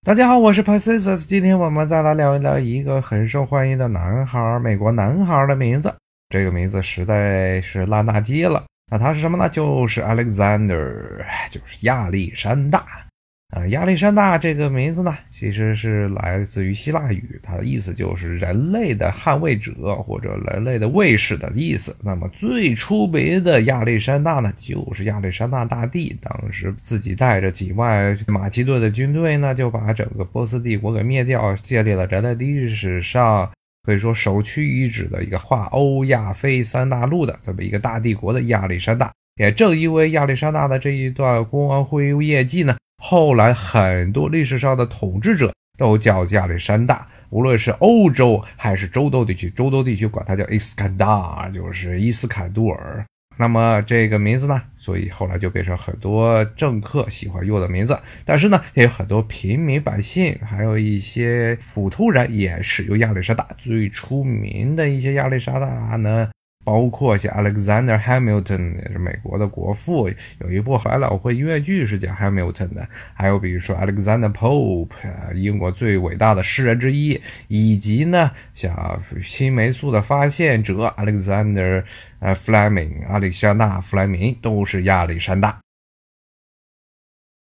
大家好，我是 Pacisus， 今天我们再来聊一聊一个很受欢迎的男孩，美国男孩的名字。这个名字实在是烂大街了。那他是什么呢？就是 Alexander， 就是亚历山大。亚历山大这个名字呢，其实是来自于希腊语，它的意思就是人类的捍卫者或者人类的卫士的意思。那么最出名的亚历山大呢，就是亚历山大大帝，当时自己带着几万马其顿的军队呢，就把整个波斯帝国给灭掉，建立了人类历史上可以说首屈一指的一个跨欧亚非三大陆的这么一个大帝国的亚历山大。也正因为亚历山大的这一段光辉业绩呢，后来很多历史上的统治者都叫亚历山大，无论是欧洲还是中东地区，中东地区管它叫伊斯坎达，就是伊斯坎杜尔。那么这个名字呢，所以后来就变成很多政客喜欢用的名字，但是呢，也有很多平民百姓，还有一些普通人也使用亚历山大。最出名的一些亚历山大呢，包括像 Alexander Hamilton， 也是美国的国父，有一部百老汇音乐剧是讲 Hamilton 的，还有比如说 Alexander Pope， 英国最伟大的诗人之一，以及呢像青霉素的发现者 Alexander Fleming， 亚历山大·弗莱明都是亚历山大。